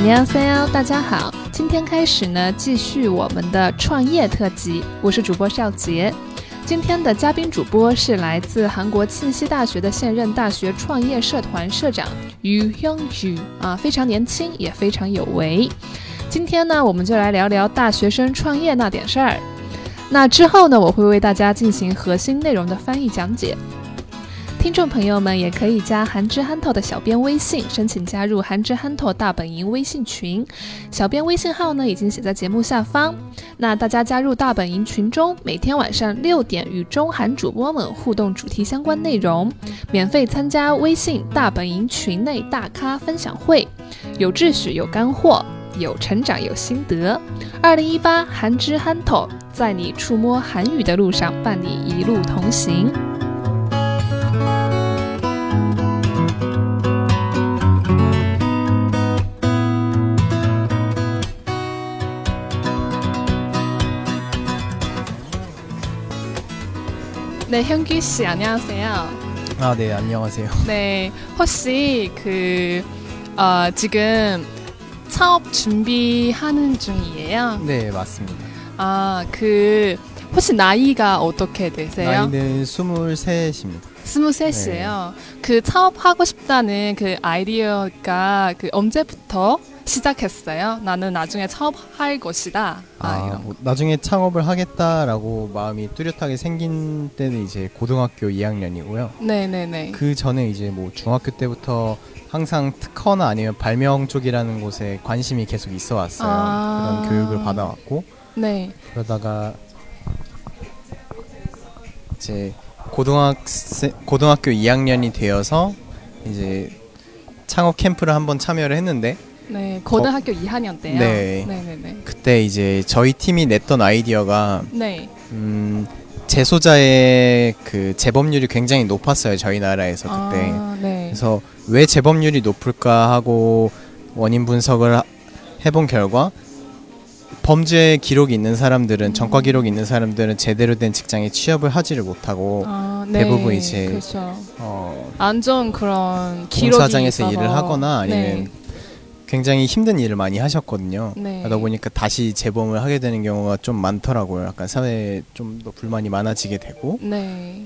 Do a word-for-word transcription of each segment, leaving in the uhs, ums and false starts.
안녕하세요，大家好。今天开始呢，继续我们的创业特辑。我是主播邵杰。今天的嘉宾主播是来自韩国庆熙大学的现任大学创业社团社长유 형주啊，非常年轻，也非常有为。今天呢，我们就来聊聊大学生创业那点事儿。那之后呢，我会为大家进行核心内容的翻译讲解。听众朋友们也可以加韩之憨透的小编微信，申请加入韩之憨透大本营微信群。小编微信号呢已经写在节目下方。那大家加入大本营群中，每天晚上六点与中韩主播们互动主题相关内容，免费参加微信大本营群内大咖分享会，有秩序，有干货，有成长，有心得。二零一八韩之憨透，在你触摸韩语的路上，伴你一路同行。네, 현규 씨 안녕하세요. 아, 네, 안녕하세요. 네, 혹시 그 어, 지금 창업 준비하는 중이에요? 네, 맞습니다. 아, 그 혹시 나이가 어떻게 되세요? 나이는 스물셋입니다. 스물셋이에요. 네. 그 창업하고 싶다는 그 아이디어가 그 언제부터 시작했어요? 나는 나중에 창업할 것이다. 아, 아 뭐, 나중에 창업을 하겠다라고 마음이 뚜렷하게 생긴 때는 이제 고등학교 이 학년이고요. 네네네. 그 전에 이제 뭐 중학교 때부터 항상 특허나 아니면 발명 쪽이라는 곳에 관심이 계속 있어 왔어요. 아~ 그런 교육을 받아왔고. 네. 그러다가 이제 고등학생 고등학교 이 학년이 되어서 이제 창업 캠프를 한번 참여를 했는데. 네, 고등학교 거, 이 학년 때요. 네, 네네네. 그때 이제 저희 팀이 냈던 아이디어가 네. 음, 재소자의 그 재범률이 굉장히 높았어요. 저희 나라에서 그때. 아, 네. 그래서 왜 재범률이 높을까 하고 원인 분석을 하, 해본 결과 범죄 기록이 있는 사람들은 음. 전과 기록이 있는 사람들은 제대로 된 직장에 취업을 하지를 못하고 아, 네. 대부분 이제 그렇죠. 어, 안 좋은 그런 기록이 공사장에서 있어서. 일을 하거나 아니면 네. 굉장히 힘든 일을 많이 하셨거든요. 네. 그러다 보니까 다시 재범을 하게 되는 경우가 좀 많더라고요. 약간 사회에 좀 더 불만이 많아지게 되고. 네.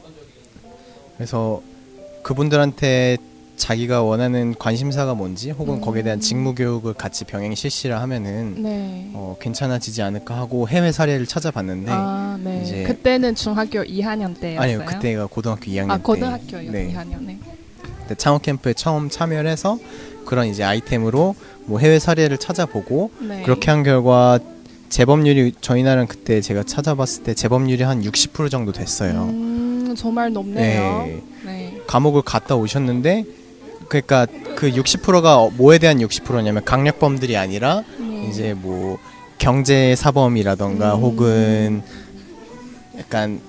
그래서 그분들한테 자기가 원하는 관심사가 뭔지 혹은 음. 거기에 대한 직무 교육을 같이 병행 실시를 하면은 네. 어, 괜찮아지지 않을까 하고 해외 사례를 찾아봤는데 아, 네. 이제 그때는 중학교 이 학년 때였어요? 아니요, 그때가 고등학교 이 학년 아, 때. 고등학교 네. 이 학년에. 그때 창업 캠프에 처음 참여를 해서 그런 이제 아이템으로 뭐 해외 사례를 찾아보고 네. 그렇게 한 결과 재범률이 저희 나라는 그때 제가 찾아봤을 때 재범률이 한 육십 퍼센트 정도 됐어요. 음, 정말 높네요. 네. 네. 감옥을 갔다 오셨는데 그러니까 그 육십 퍼센트가 뭐에 대한 육십 퍼센트냐면 강력범들이 아니라 네. 이제 뭐 경제 사범이라던가 음. 혹은 약간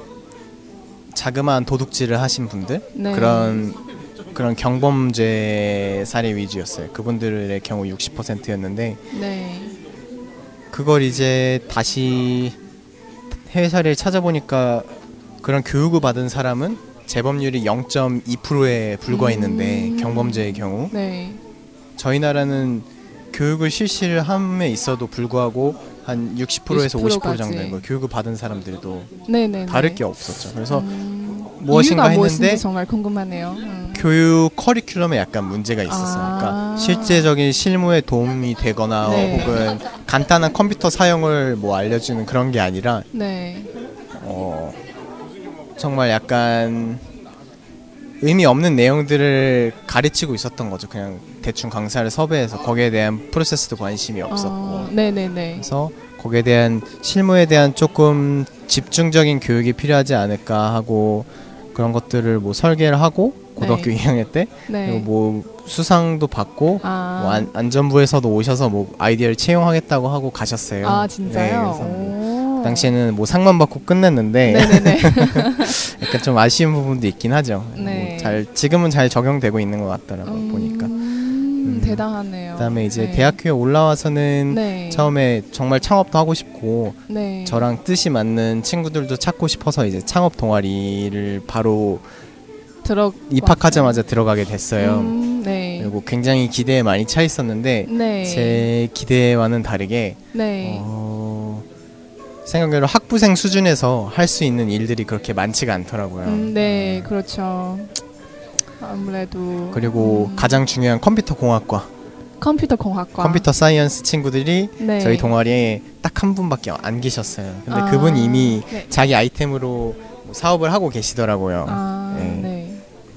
자그마한 도둑질을 하신 분들 네. 그런 그런 경범죄 사례 위주였어요. 그분들의 경우 육십 퍼센트였는데 네. 그걸 이제 다시 해외 사례를 찾아보니까 그런 교육을 받은 사람은 재범률이 영 점 이 퍼센트에 불과했는데 음. 경범죄의 경우 네. 저희 나라는 교육을 실시를 함에 있어도 불구하고 한 육십 퍼센트에서 오십 퍼센트 정도인 거예요. 교육을 받은 사람들도 네네네. 다를 게 없었죠. 그래서 음. 무엇인가 했는데 정말 궁금하네요. 음. 교육 커리큘럼에 약간 문제가 있었어요. 아~ 그러니까 실제적인 실무에 도움이 되거나 네. 혹은 간단한 컴퓨터 사용을 뭐 알려주는 그런 게 아니라 네. 어, 정말 약간 의미 없는 내용들을 가르치고 있었던 거죠. 그냥 대충 강사를 섭외해서 거기에 대한 프로세스도 관심이 없었고 아~ 네네네. 그래서 거기에 대한 실무에 대한 조금 집중적인 교육이 필요하지 않을까 하고 그런 것들을 뭐 설계를 하고 고등학교 네. 이 학년 때 네. 그리고 뭐 수상도 받고 아. 뭐 안, 안전부에서도 오셔서 뭐 아이디어를 채용하겠다고 하고 가셨어요. 아 진짜요? 네, 그래서 뭐 그 당시에는 뭐 상만 받고 끝냈는데 약간 좀 아쉬운 부분도 있긴 하죠. 네. 뭐 잘 지금은 잘 적용되고 있는 것 같더라고요. 음. 보니까. 음, 대단하네요. 그다음에 이제 네. 대학교에 올라와서는 네. 처음에 정말 창업도 하고 싶고 네. 저랑 뜻이 맞는 친구들도 찾고 싶어서 이제 창업 동아리를 바로 들어 입학하자마자 들어가게 됐어요. 음, 네. 그리고 굉장히 기대에 많이 차 있었는데 네. 제 기대와는 다르게 네. 어, 생각외로 학부생 수준에서 할 수 있는 일들이 그렇게 많지가 않더라고요. 음, 네, 그렇죠. 아무래도 그리고 음. 가장 중요한 컴퓨터 공학과 컴퓨터 공학과 컴퓨터 사이언스 친구들이 네. 저희 동아리에 딱 한 분밖에 안 계셨어요. 근데 아, 그분 이미 네. 자기 아이템으로 사업을 하고 계시더라고요. 아, 네. 네.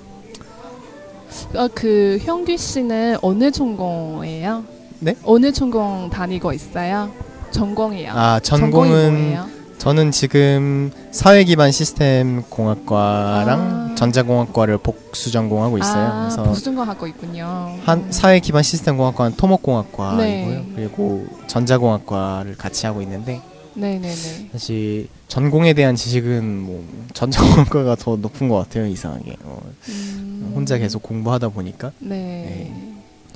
어, 그 형규 씨는 어느 전공이에요? 네? 어느 전공 다니고 있어요? 전공이요. 아, 전공은 저는 지금 사회기반 시스템 공학과랑 아. 전자공학과를 복수 전공하고 있어요. 아, 그래서 복수 전공하고 있군요. 한 사회기반 시스템 공학과는 토목공학과이고요. 네. 그리고 전자공학과를 같이 하고 있는데 네네네. 사실 전공에 대한 지식은 뭐 전자공학과가 더 높은 것 같아요. 이상하게 어, 음. 혼자 계속 공부하다 보니까. 네. 네.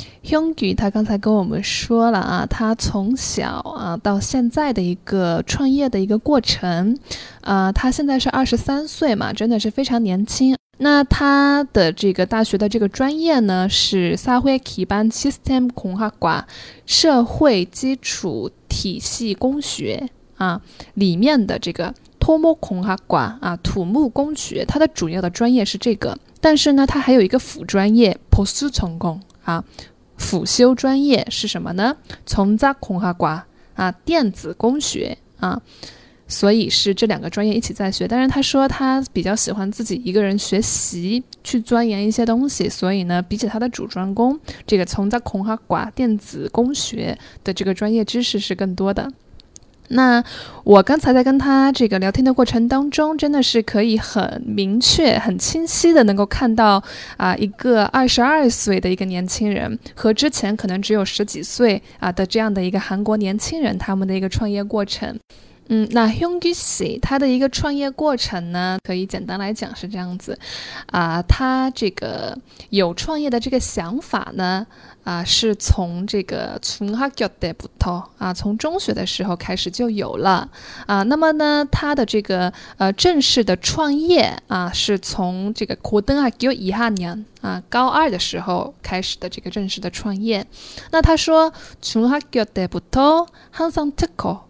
형규他刚才跟我们说了啊，他从小啊到现在的一个创业的一个过程，啊，他现在是二十三岁嘛，真的是非常年轻。那他的这个大学的这个专业呢是社会基本 System 工学과社会基础体系工学啊里面的这个토목工学과啊土木工学，它的主要的专业是这个，但是呢，它还有一个辅专业보수 전공啊。辅修专业是什么呢？전자공학과啊，电子工学啊，所以是这两个专业一起在学。但是他说他比较喜欢自己一个人学习，去钻研一些东西，所以呢，比起他的主专攻，这个전자공학과电子工学的这个专业知识是更多的。那我刚才在跟他这个聊天的过程当中，真的是可以很明确、很清晰的能够看到啊、呃，一个二十二岁的一个年轻人和之前可能只有十几岁啊的这样的一个韩国年轻人，他们的一个创业过程。嗯，那 Hyunggi씨他的一个创业过程呢，可以简单来讲是这样子啊、呃，他这个有创业的这个想法呢。啊，是从这个중학교 때부터啊，从中学的时候开始就有了啊。那么呢，他的这个呃正式的创业啊，是从这个고등학교 이 학년啊高二的时候开始的这个正式的创业。那他说중학교 때부터 항상 특허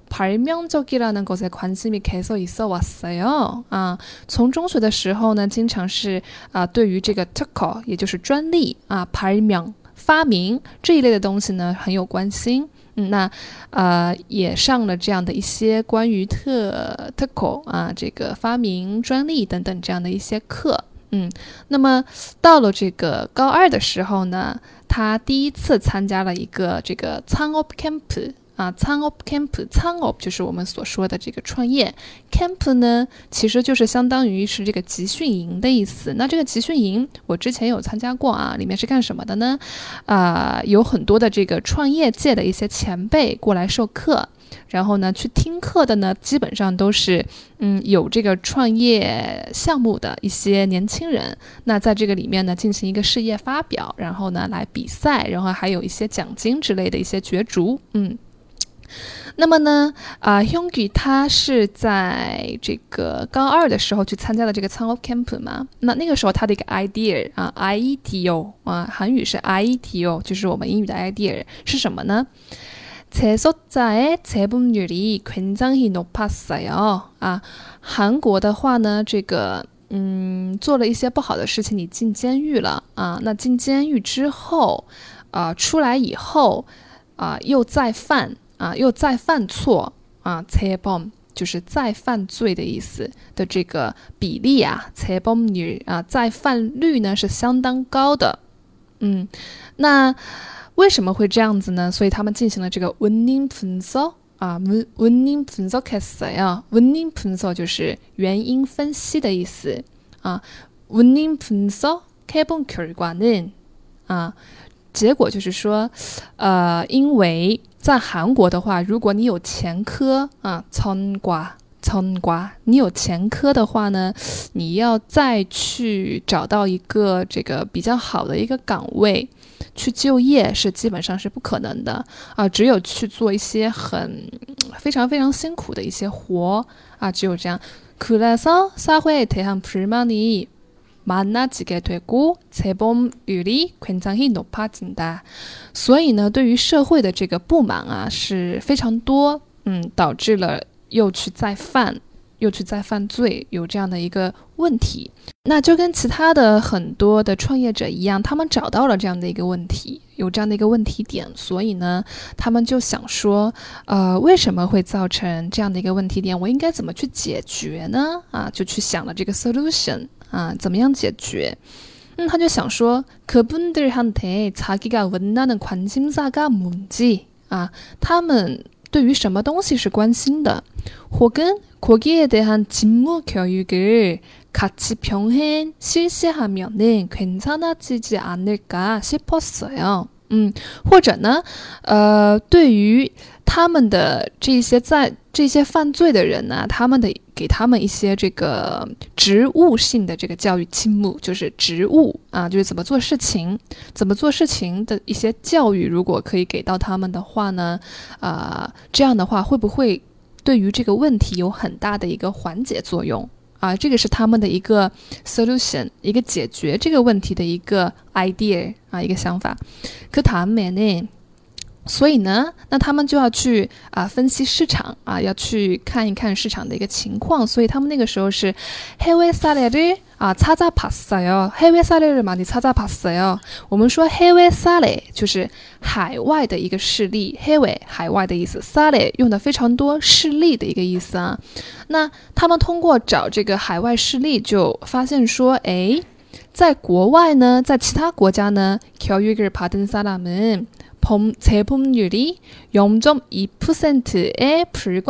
발명적이라는 것에 관심이 계속 있어 왔어요. 아, 从中学的时候呢，经常是啊对于这个특허也就是专利啊발명发明这一类的东西呢很有关心，嗯，那呃也上了这样的一些关于特特口啊这个发明专利等等这样的一些课，嗯，那么到了这个高二的时候呢，他第一次参加了一个这个창업 캠프。啊，창업 캠프，창업就是我们所说的这个创业 ，camp 呢其实就是相当于是这个集训营的意思。那这个集训营我之前有参加过啊，里面是干什么的呢？啊、呃，有很多的这个创业界的一些前辈过来授课，然后呢去听课的呢，基本上都是嗯有这个创业项目的一些年轻人。那在这个里面呢进行一个事业发表，然后呢来比赛，然后还有一些奖金之类的一些角逐，嗯。那么呢，啊、呃、，Hyunggi 他是在这个高二的时候去参加了这个창업 캠p嘛。那那个时候他的一个 idea 啊 ，idea 啊，韩语是 idea， 就是我们英语的 idea 是什么呢？재소자의 재범률이 굉장히 높았어요。啊，韩国的话呢，这个嗯做了一些不好的事情，你进监狱了啊。那进监狱之后，啊、呃、出来以后，啊、呃、又再犯。啊，又再犯错啊，재범就是再犯罪的意思的这个比例啊，재범률啊，再犯率呢是相当高的。嗯，那为什么会这样子呢？所以他们进行了这个원인분석啊，원인분석했어요。원인분석就是原因分析的意思啊。원인분석해본 결과는啊，结果就是说，呃，因为在韩国的话，如果你有前科啊，参瓜参瓜，你有前科的话呢，你要再去找到一个这个比较好的一个岗位去就业是基本上是不可能的啊，只有去做一些很非常非常辛苦的一些活啊，只有这样。그래서 사회에 대한 불만이 많아지게 되고 재범률이 굉장히 높아진다。所以呢，对于社会的这个不满啊是非常多，嗯，导致了又去再犯。又去再犯罪，有这样的一个问题。那就跟其他的很多的创业者一样，他们找到了这样的一个问题，有这样的一个问题点，所以呢他们就想说呃，为什么会造成这样的一个问题点，我应该怎么去解决呢？啊，就去想了这个 solution 啊，怎么样解决。嗯，他就想说그분들한테 자기가 원하는 관심사가 뭔지啊，他们对于什么东西是关心的，혹은 거기에 대한 직무 교육을 같이 병행 실시하면은 괜찮아지지 않을까 싶었어요. 嗯，或者呢，呃，对于他们的这些在这些犯罪的人呢，他们的给他们一些这个职务性的这个教育직무，就是职务啊，就是怎么做事情，怎么做事情的一些教育，如果可以给到他们的话呢，呃，这样的话会不会对于这个问题有很大的一个缓解作用？啊，这个是他们的一个 solution， 一个解决这个问题的一个 idea 啊，一个想法。그 다음에는所以呢，那他们就要去啊分析市场啊，要去看一看市场的一个情况。所以他们那个时候是해외 사례를啊찾아봤어요。해외 사례를 많이 찾아봤어요。我们说해외 사례就是海外的一个事例，해외海外的意思，사례用的非常多，事例的一个意思啊。那他们通过找这个海外事例，就发现说，哎，在国外呢，在其他国家呢，교육을 받은 사람은 범, 재범률이 영 점 이 퍼센트에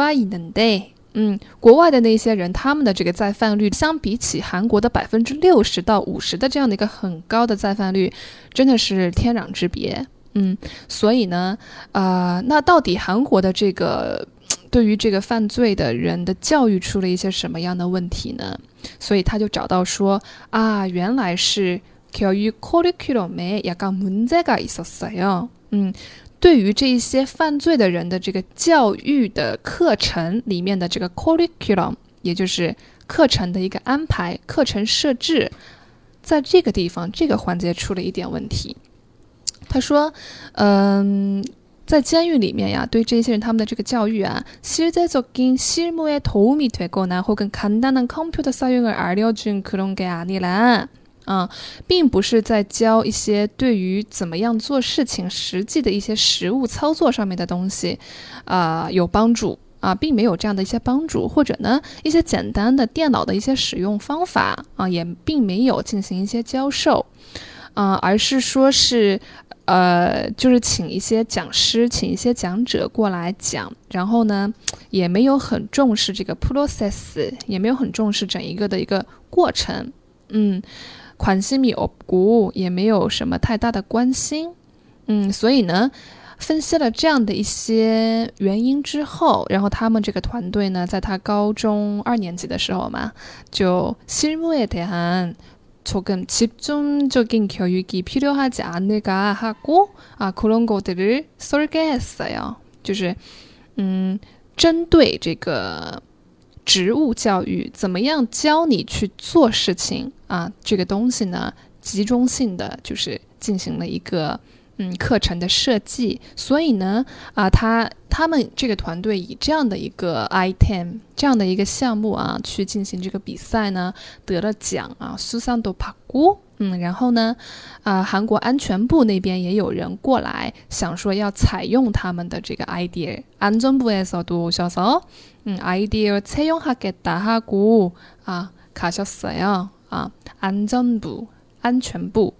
불과했는데，嗯，国外的那些人，他们的这个再犯率相比起韩国的百分之六十到五十的这样的一个很高的再犯率，真的是天壤之别。嗯，所以呢，呃，那到底韩国的这个对于这个犯罪的人的教育出了一些什么样的问题呢？所以他就找到说啊，原来是교육 커리큘럼에 약간 문제가 있었어요。嗯，对于这一些犯罪的人的这个教育的课程里面的这个 curriculum， 也就是课程的一个安排，课程设置，在这个地方这个环节出了一点问题。他说嗯，在监狱里面呀，对这些人他们的这个教育啊，실제적인 실무에 도움이 되거나 혹은 간단한 컴퓨터 사용을 알려준 그런 게 아니라啊，并不是在教一些对于怎么样做事情实际的一些实务操作上面的东西，啊、呃，有帮助啊，并没有这样的一些帮助，或者呢，一些简单的电脑的一些使用方法啊，也并没有进行一些教授，啊、呃，而是说是，呃，就是请一些讲师，请一些讲者过来讲，然后呢，也没有很重视这个 process， 也没有很重视整一个的一个过程，嗯。관심이 없고也没有什么太大的关心，嗯，所以呢，分析了这样的一些原因之后，然后他们这个团队呢，在他高中二年级的时候嘛，就실무에 대한 조금 집중적인 교육이 필요하지 않을까 하고 아 그런 것들을 설계했어요。就是嗯，针对这个职务教育，怎么样教你去做事情啊？这个东西呢，集中性的就是进行了一个嗯课程的设计。所以呢，啊，他他们这个团队以这样的一个 item 这样的一个项目啊，去进行这个比赛呢，得了奖啊，수상도 받고。嗯，然后呢，啊、呃，韩国安全部那边也有人过来，想说要采用他们的这个 idea。안전부에서도 오셔서 음, 아이디어 채용하겠다 하고 아, 가셨어요. 아, 안전부, 안전부,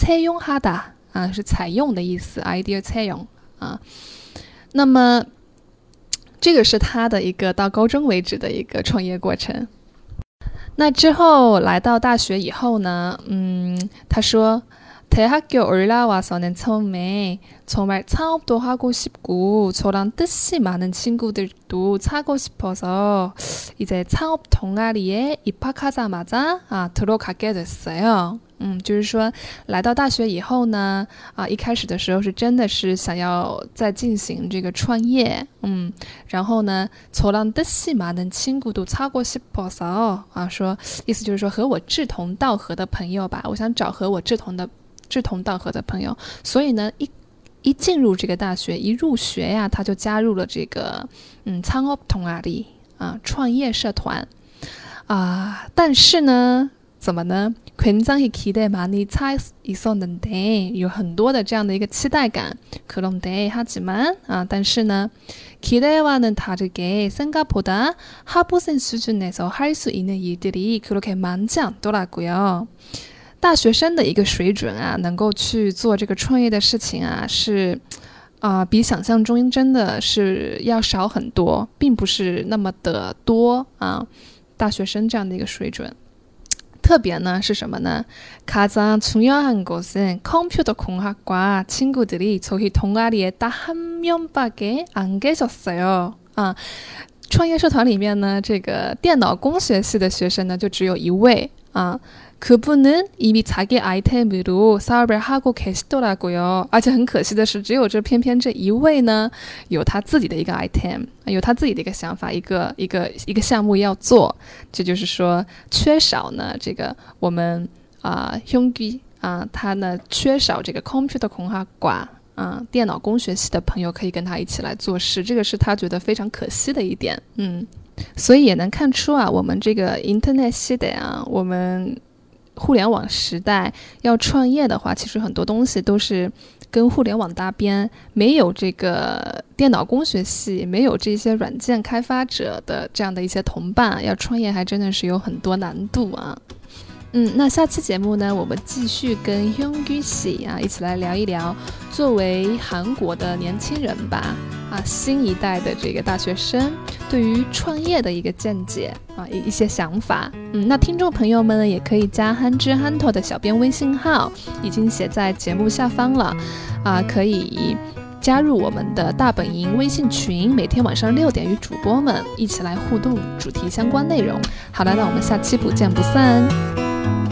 채용하다啊，是采用的意思 ，idea 采用啊。那么这个是他的一个到高中为止的一个创业过程。那之后来到大学以后呢，嗯，他说대학교 올라와서는 처음에 정말 창업도 하고 싶고 저랑 뜻이 많은 친구들도 사고 싶어서 이제 창업 동아리에 입학하자마자 아, 들어가게 됐어요. 嗯，就是说来到大学以后呢，啊，一开始的时候是真的是想要再进行这个创业，嗯，然后呢，저랑 뜻이 많은 친구도 찾고 싶어서啊，说意思就是说和我志同道合的朋友吧，我想找和我志同的志同道合的朋友，所以呢，一一进入这个大学，一入学呀，他就加入了这个嗯창업 동아리啊，创业社团啊，但是呢。怎么呢？굉장히 기대 많이 차 있었는데有很多的这样的一个期待感。그런데 하지만啊，但是呢 기대와는 다르게 생각보다 하부생 수준에서 할 수 있는 일들이 그렇게 많지 않더라고요. 大学生的一个水准啊，能够去做这个创业的事情啊，是啊、呃，比想象中真的是要少很多，并不是那么的多啊。大学生这样的一个水准。特别呢是什么呢？가장 중요한 것은 컴퓨터 공학과 친구들이 저희 동아리에 딱 한 명밖에 안 계셨어요. 啊，创业社团里面呢，这个电脑工学系的学生呢，就只有一位啊。그분은 이미 자기 아이템으로 사업을 하고 계시더라고요. 而且很可惜的是，只有这偏偏这一位呢，有他自己的一个 item， 有他自己的一个想法，一个一个一个项目要做。这就是说，缺少呢这个我们啊형기啊，他呢缺少这个 computer 공학과啊电脑工学系的朋友可以跟他一起来做事，这个是他觉得非常可惜的一点。嗯，所以也能看出啊，我们这个 internet 系的啊，我们。互联网时代要创业的话，其实很多东西都是跟互联网搭边，没有这个电脑工学系，没有这些软件开发者的这样的一些同伴，要创业还真的是有很多难度啊。嗯，那下期节目呢，我们继续跟 Hyunggu Si 啊一起来聊一聊，作为韩国的年轻人吧，啊，新一代的这个大学生对于创业的一个见解啊，一一些想法。嗯，那听众朋友们呢，也可以加憨之憨头的小编微信号，已经写在节目下方了，啊，可以加入我们的大本营微信群，每天晚上六点与主播们一起来互动主题相关内容。好了，那我们下期不见不散。